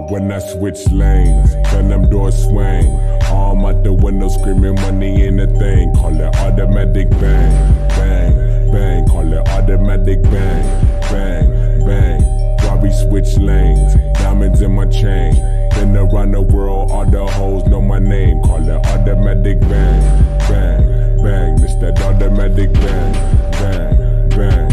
when I switch lanes, then them doors swing. Arm out the window screaming money in the thing. Call it automatic bang, bang, bang. Call it automatic bang, bang, bang. Robbie switch lanes, diamonds in my chain. Been around the world, all the hoes know my name. Call it automatic bang, bang, bang. It's that automatic bang, bang, bang.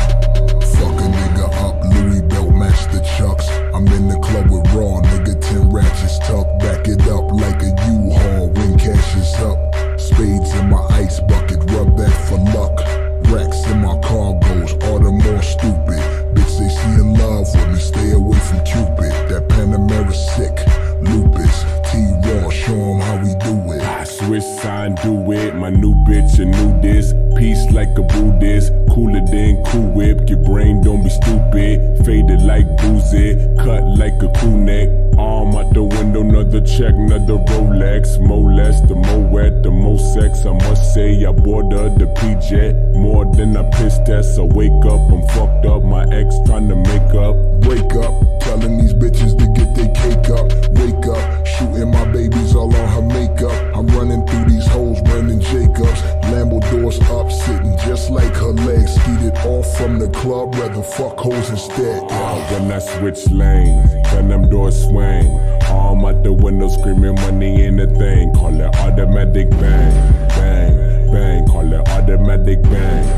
Fuck a nigga up, Louis belt match the chucks. I'm in the club with Raw, nigga 10 ratchets tucked. Back it up like a U-Haul when cash is up. Spades in my ice bucket, rub that for luck. Racks in my cargoes, all the more stupid. Bitch, they see in love with me, stay away from Cupid. That Panamera sick, lupus, T-Raw, show 'em how we do it. I switch sign, do it, my new bitch, a new this. Peace like a Buddhist, cooler than Cool Whip. Your brain don't be stupid, faded like boozy, cut like a crew neck. Arm out the window, another check, another Rolex. More less, the more wet, the more sex. I must say I bought her the P-Jet, more than I piss test. So wake up, I'm fucked up, my ex trying to make up. Wake up, telling these bitches to get their cake up. Wake up, shooting my babies all on her makeup. I'm running through these hoes, Brandon Jacobs. Lambo doors up, sitting just like her legs. Skeeted off from the club, rather fuck hoes instead. When I switch lanes, then them doors swing. Arm out the window screaming money in the thing. Call it automatic bang, bang, bang. Call it automatic bang,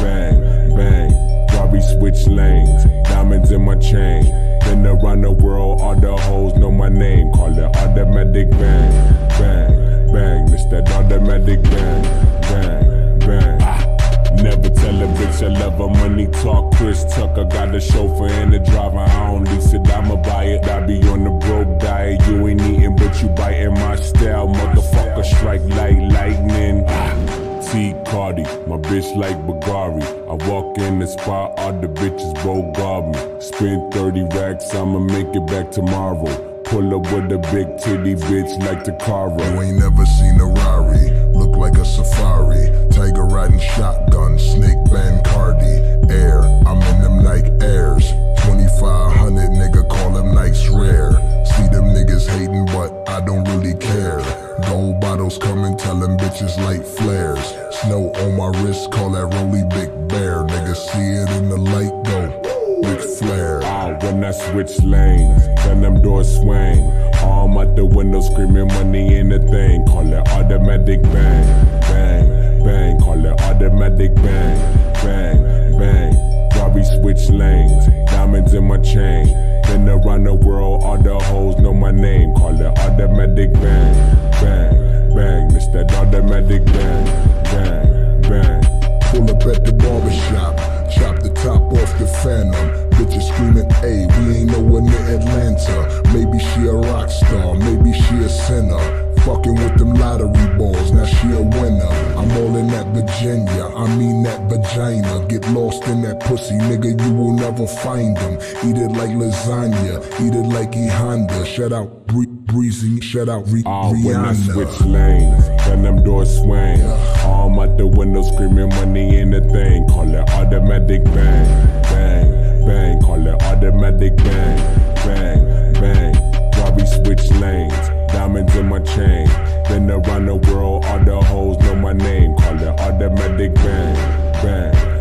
bang, bang. Robbie switch lanes, diamonds in my chain. Been around the world, all the hoes know my name. Call it automatic bang, bang, bang. It's that automatic bang, bang, bang. Never tell a bitch I love her, money talk. Chris Tucker got a chauffeur and a driver. I don't lease it, I'ma buy it. I be on the broke diet. You ain't eating, but you biting my style. Motherfucker, strike like lightning. T. Cardi, my bitch like Bagari. I walk in the spot, all the bitches both guard me. Spend 30 racks, I'ma make it back tomorrow. Pull up with a big titty bitch like Takara. You ain't never seen a Rari, look like a safari. Tiger riding shotgun, snake band Cardi. Air, I'm in them Nike Airs. 2500 nigga, call them Nikes rare. See them niggas hating, but I don't really care. Gold bottles coming, tell them bitches light flares. Snow on my wrist, call that Rolly Big Bear. Niggas see it in the light, go Ric Flair. When I switch lanes, then them doors swing. Arm out the window screaming money in the thing. Call it automatic bang, bang, bang. Call it automatic bang, bang, bang. Robbie switch lanes, diamonds in my chain. Been around the world, all the hoes know my name. Call it automatic bang, bang, bang. It's that automatic bang, bang, bang. Pull up at the barbershop, chop the top off the Phantom. Bitches screaming, ayy, we ain't nowhere near Atlanta. Maybe she a rock star, maybe she a sinner. Fucking with them lottery balls, now she a winner. I'm all in that Virginia, I mean that vagina. Get lost in that pussy, nigga, you will never find them. Eat it like lasagna, eat it like E Honda. Shout out Breezy, shout out Rihanna. When I switch lanes, then them doors swing. Arm out the window screaming money in the thing. Call it automatic bang, bang, bang. Call it automatic bang, bang, bang. Robbie switch lanes, diamonds in my chain. Been around the world, all the hoes know my name. Call it automatic bang, bang.